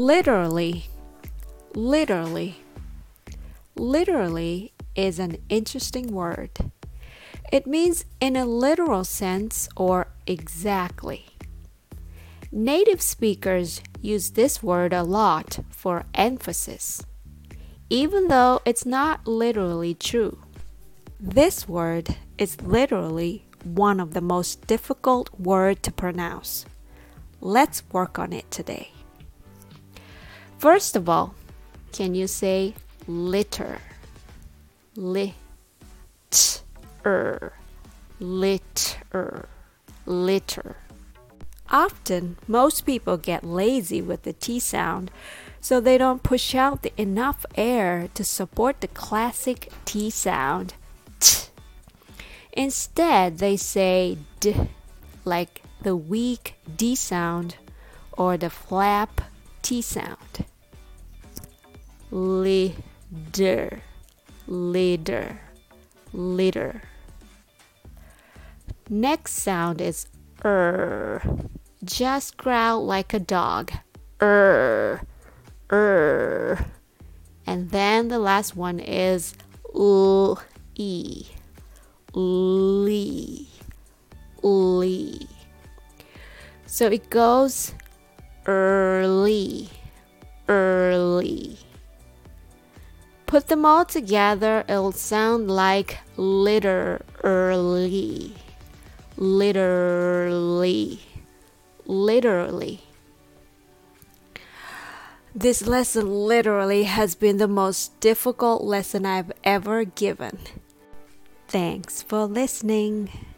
Literally, literally. Literally is an interesting word. It means in a literal sense or exactly. Native speakers use this word a lot for emphasis, even though it's not literally true. This word is literally one of the most difficult words to pronounce. Let's work on it today. First of all, can you say litter? Litter, litter, litter. Often, most people get lazy with the T sound, so they don't push out enough air to support the classic T sound, t. Instead, they say d, like the weak D sound or the flap T sound. Litter, litter, litter. Next sound is just growl like a dog. And then the last one is lee, lee, lee. So it goes early, early. Put them all together, it'll sound like literally, literally, literally. This lesson literally has been the most difficult lesson I've ever given. Thanks for listening.